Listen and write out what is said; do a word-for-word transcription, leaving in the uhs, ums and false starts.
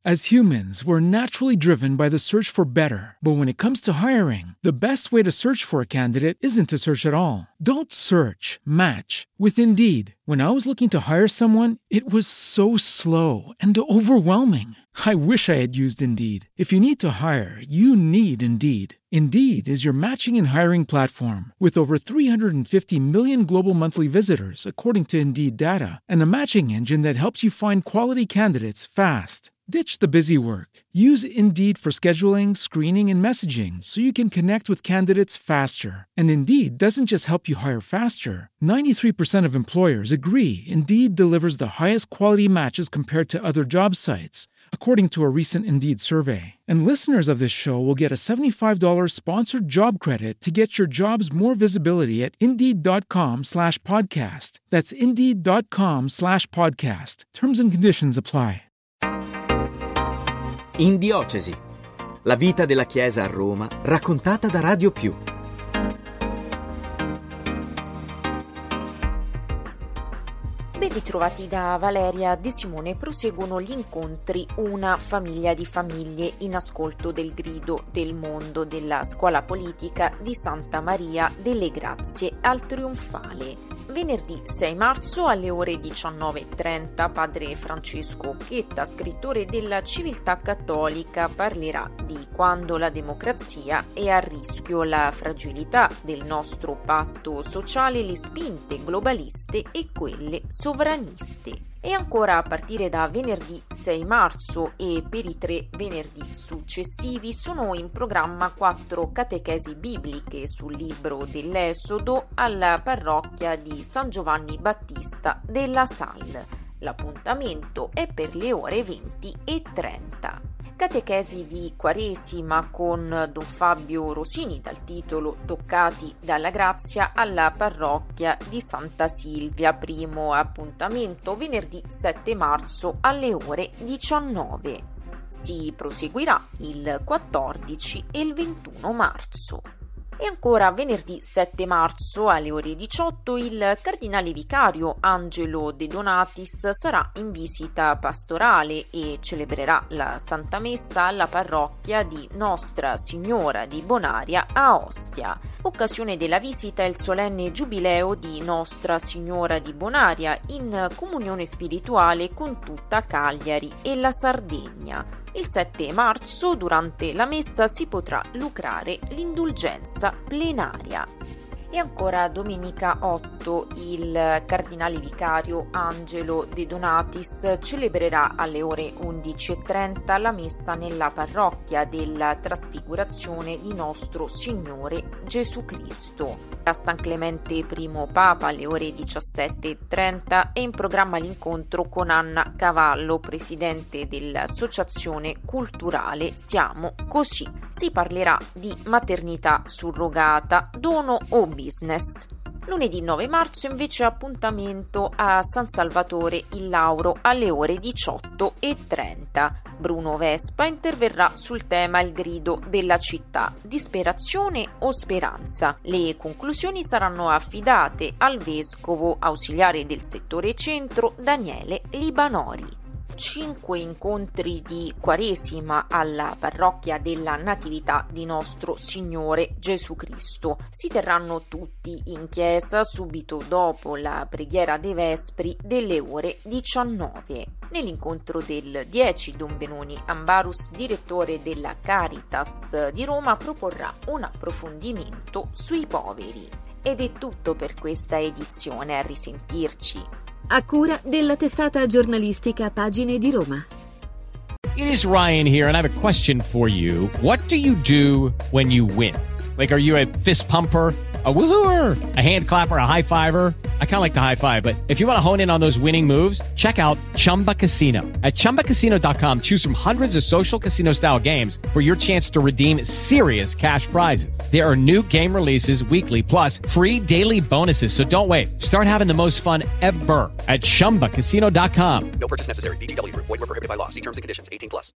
As humans, we're naturally driven by the search for better. But when it comes to hiring, the best way to search for a candidate isn't to search at all. Don't search, match with Indeed. When I was looking to hire someone, it was so slow and overwhelming. I wish I had used Indeed. If you need to hire, you need Indeed. Indeed is your matching and hiring platform with over three hundred fifty million global monthly visitors, according to Indeed data, and a matching engine that helps you find quality candidates fast. Ditch the busy work. Use Indeed for scheduling, screening, and messaging so you can connect with candidates faster. And Indeed doesn't just help you hire faster. ninety-three percent of employers agree Indeed delivers the highest quality matches compared to other job sites, according to a recent Indeed survey. And listeners of this show will get a seventy-five dollars sponsored job credit to get your jobs more visibility at Indeed.com slash podcast. That's Indeed.com slash podcast. Terms and conditions apply. In Diocesi, la vita della Chiesa a Roma raccontata da Radio Più. Ben ritrovati da Valeria De Simone. Proseguono gli incontri Una famiglia di famiglie in ascolto del grido del mondo della scuola politica di Santa Maria delle Grazie al Trionfale. Venerdì sei marzo alle ore diciannove e trenta padre Francesco Chetta, scrittore della Civiltà Cattolica, parlerà di quando la democrazia è a rischio, la fragilità del nostro patto sociale, le spinte globaliste e quelle sovraniste. E ancora a partire da venerdì sei marzo e per i tre venerdì successivi sono in programma quattro catechesi bibliche sul libro dell'Esodo alla parrocchia di San Giovanni Battista della Salle. L'appuntamento è per le ore venti e trenta. Catechesi di Quaresima con Don Fabio Rosini dal titolo Toccati dalla grazia alla parrocchia di Santa Silvia. Primo appuntamento venerdì sette marzo alle ore diciannove. Si proseguirà il quattordici e il ventuno marzo. E ancora venerdì sette marzo alle ore diciotto il cardinale vicario Angelo De Donatis sarà in visita pastorale e celebrerà la Santa Messa alla parrocchia di Nostra Signora di Bonaria a Ostia. Occasione della visita è il solenne giubileo di Nostra Signora di Bonaria in comunione spirituale con tutta Cagliari e la Sardegna. Il sette marzo, durante la messa, si potrà lucrare l'indulgenza plenaria. E ancora domenica otto il cardinale vicario Angelo De Donatis celebrerà alle ore undici e trenta la messa nella parrocchia della Trasfigurazione di Nostro Signore Gesù Cristo. A San Clemente I Papa alle ore diciassette e trenta è in programma l'incontro con Anna Cavallo, presidente dell'Associazione Culturale Siamo Così. Si parlerà di maternità surrogata, dono o business. Lunedì nove marzo invece appuntamento a San Salvatore il Lauro alle ore diciotto e trenta. Bruno Vespa interverrà sul tema Il grido della città, disperazione o speranza. Le conclusioni saranno affidate al vescovo ausiliare del settore centro Daniele Libanori. Cinque incontri di Quaresima alla parrocchia della Natività di Nostro Signore Gesù Cristo. Si terranno tutti in chiesa subito dopo la preghiera dei Vespri delle ore diciannove. Nell'incontro del dieci Don Benoni Ambarus, direttore della Caritas di Roma, proporrà un approfondimento sui poveri. Ed è tutto per questa edizione, a risentirci. A cura della testata giornalistica Pagine di Roma. It is Ryan here, and I have a question for you. What do you do when you win? Like, are you a fist pumper, a woohooer, a hand clapper, a high fiver? I kind of like the high five, but if you want to hone in on those winning moves, check out Chumba Casino. At Chumba Casino dot com, choose from hundreds of social casino-style games for your chance to redeem serious cash prizes. There are new game releases weekly, plus free daily bonuses, so don't wait. Start having the most fun ever at Chumba Casino dot com. No purchase necessary. V G W. Void where prohibited by law. See terms and conditions. eighteen plus.